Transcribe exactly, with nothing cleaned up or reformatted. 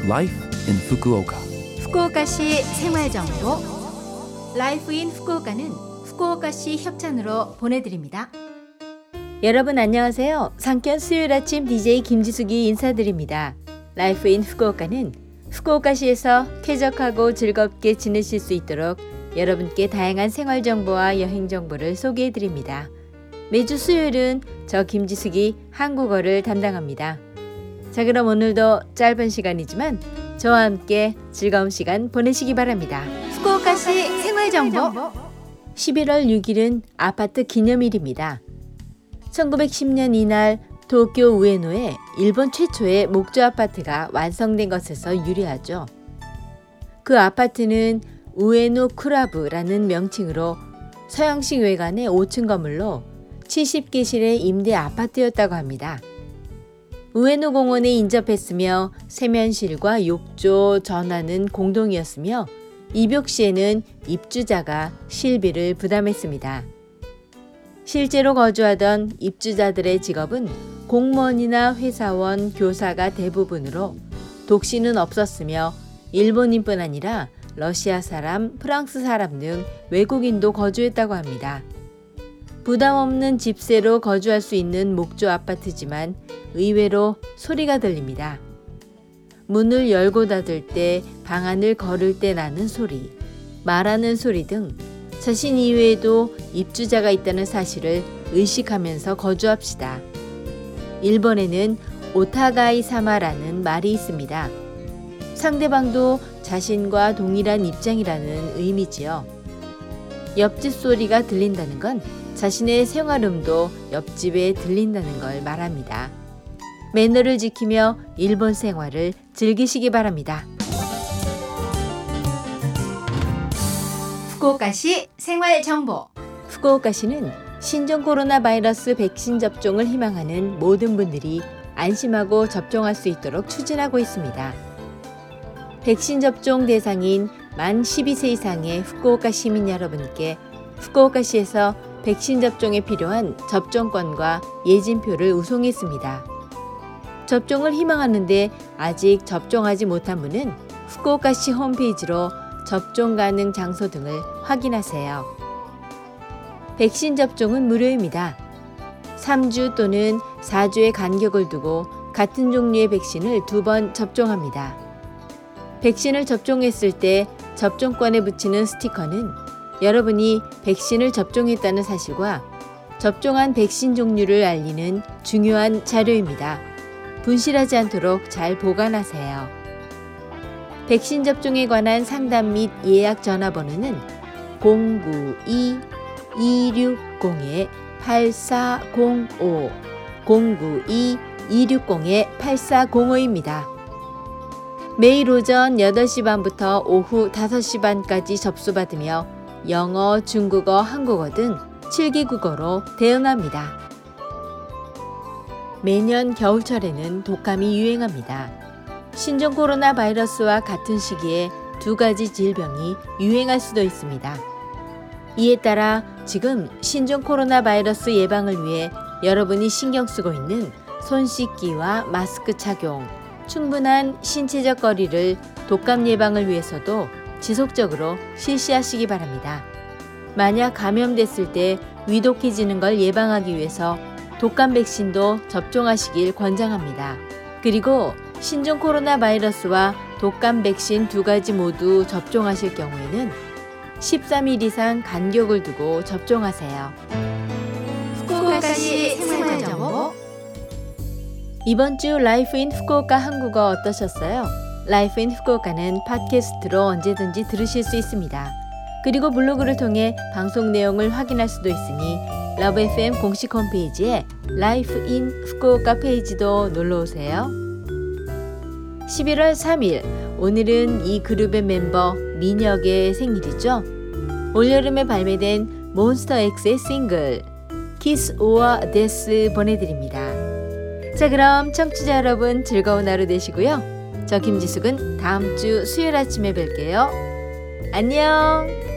Life in Fukuoka. 후쿠오카시 생활정보 라이프 인 후쿠오카는 후쿠오카시 협찬으로 보내드립니다. 여러분 안녕하세요. 상견 수요일 아침 디제이 김지숙이 인사드립니다. 라이프 인 후쿠오카는 후쿠오카시에서 쾌적하고 즐겁게 지내실 수 있도록 여러분께 다양한 생활정보와 여행정보를 소개해드립니다. 매주 수요일은 저 김지숙이 한국어를 담당합니다. 자, 그럼 오늘도 짧은 시간이지만 저와 함께 즐거운 시간 보내시기 바랍니다. 후쿠오카시 생활정보 십일월 육일은 아파트 기념일입니다. 천구백십 년 이날 도쿄 우에노에 일본 최초의 목조 아파트가 완성된 것에서 유래하죠. 그 아파트는 우에노 쿠라브라는 명칭으로 서양식 외관의 오 층 건물로 칠십 개실의 임대 아파트였다고 합니다. 우에노 공원에 인접했으며 세면실과 욕조, 전화는 공동이었으며 입욕 시에는 입주자가 실비를 부담했습니다. 실제로 거주하던 입주자들의 직업은 공무원이나 회사원, 교사가 대부분으로 독신은 없었으며 일본인뿐 아니라 러시아 사람, 프랑스 사람 등 외국인도 거주했다고 합니다. 부담 없는 집세로 거주할 수 있는 목조 아파트지만 의외로 소리가 들립니다. 문을 열고 닫을 때, 방안을 걸을 때 나는 소리, 말하는 소리 등 자신 이외에도 입주자가 있다는 사실을 의식하면서 거주합시다. 일본에는 오타가이 사마라는 말이 있습니다. 상대방도 자신과 동일한 입장이라는 의미지요. 옆집 소리가 들린다는 건 자신의 생활음도 옆집에 들린다는 걸 말합니다. 매너를 지키며 일본 생활을 즐기시기 바랍니다. 후쿠오카시 생활정보 후쿠오카시는 신종 코로나 바이러스 백신 접종을 희망하는 모든 분들이 안심하고 접종할 수 있도록 추진하고 있습니다. 백신 접종 대상인 만 십이 세 이상의 후쿠오카 시민 여러분께 후쿠오카시에서 백신 접종에 필요한 접종권과 예진표를 우송했습니다. 접종을 희망하는데 아직 접종하지 못한 분은 후쿠오카시 홈페이지로 접종 가능 장소 등을 확인하세요. 백신 접종은 무료입니다. 삼 주 또는 사 주의 간격을 두고 같은 종류의 백신을 두 번 접종합니다. 백신을 접종했을 때 접종권에 붙이는 스티커는 여러분이 백신을 접종했다는 사실과 접종한 백신 종류를 알리는 중요한 자료입니다. 분실하지 않도록 잘 보관하세요. 백신 접종에 관한 상담 및 예약 전화번호는 공구이 이육공 팔사공오 공구이 이육공 팔사공오입니다. 매일 오전 여덟 시 반부터 오후 다섯 시 반까지 접수받으며 영어, 중국어, 한국어 등 칠 개 국어로 대응합니다. 매년 겨울철에는 독감이 유행합니다. 신종 코로나 바이러스와 같은 시기에 두 가지 질병이 유행할 수도 있습니다. 이에 따라 지금 신종 코로나 바이러스 예방을 위해 여러분이 신경 쓰고 있는 손 씻기와 마스크 착용, 충분한 신체적 거리를 독감 예방을 위해서도 지속적으로 실시하시기 바랍니다. 만약 감염됐을 때 위독해지는 걸 예방하기 위해서 독감 백신도 접종하시길 권장합니다. 그리고 신종 코로나 바이러스와 독감 백신 두 가지 모두 접종하실 경우에는 십삼 일 이상 간격을 두고 접종하세요. 후쿠오카시 생활정보 이번 주 라이프 인 후쿠오카 한국어 어떠셨어요? 라이프 인 후쿠오카는 팟캐스트로 언제든지 들으실 수 있습니다. 그리고 블로그를 통해 방송 내용을 확인할 수도 있으니 러브 에프엠 공식 홈페이지에 라이프 인 후쿠오카 페이지도 놀러오세요. 십일월 삼일, 오늘은 이 그룹의 멤버 민혁의 생일이죠. 올여름에 발매된 몬스터엑스의 싱글 키스 오어 데스 보내드립니다. 자, 그럼 청취자 여러분 즐거운 하루 되시고요. 저 김지숙은 다음 주 수요일 아침에 뵐게요. 안녕.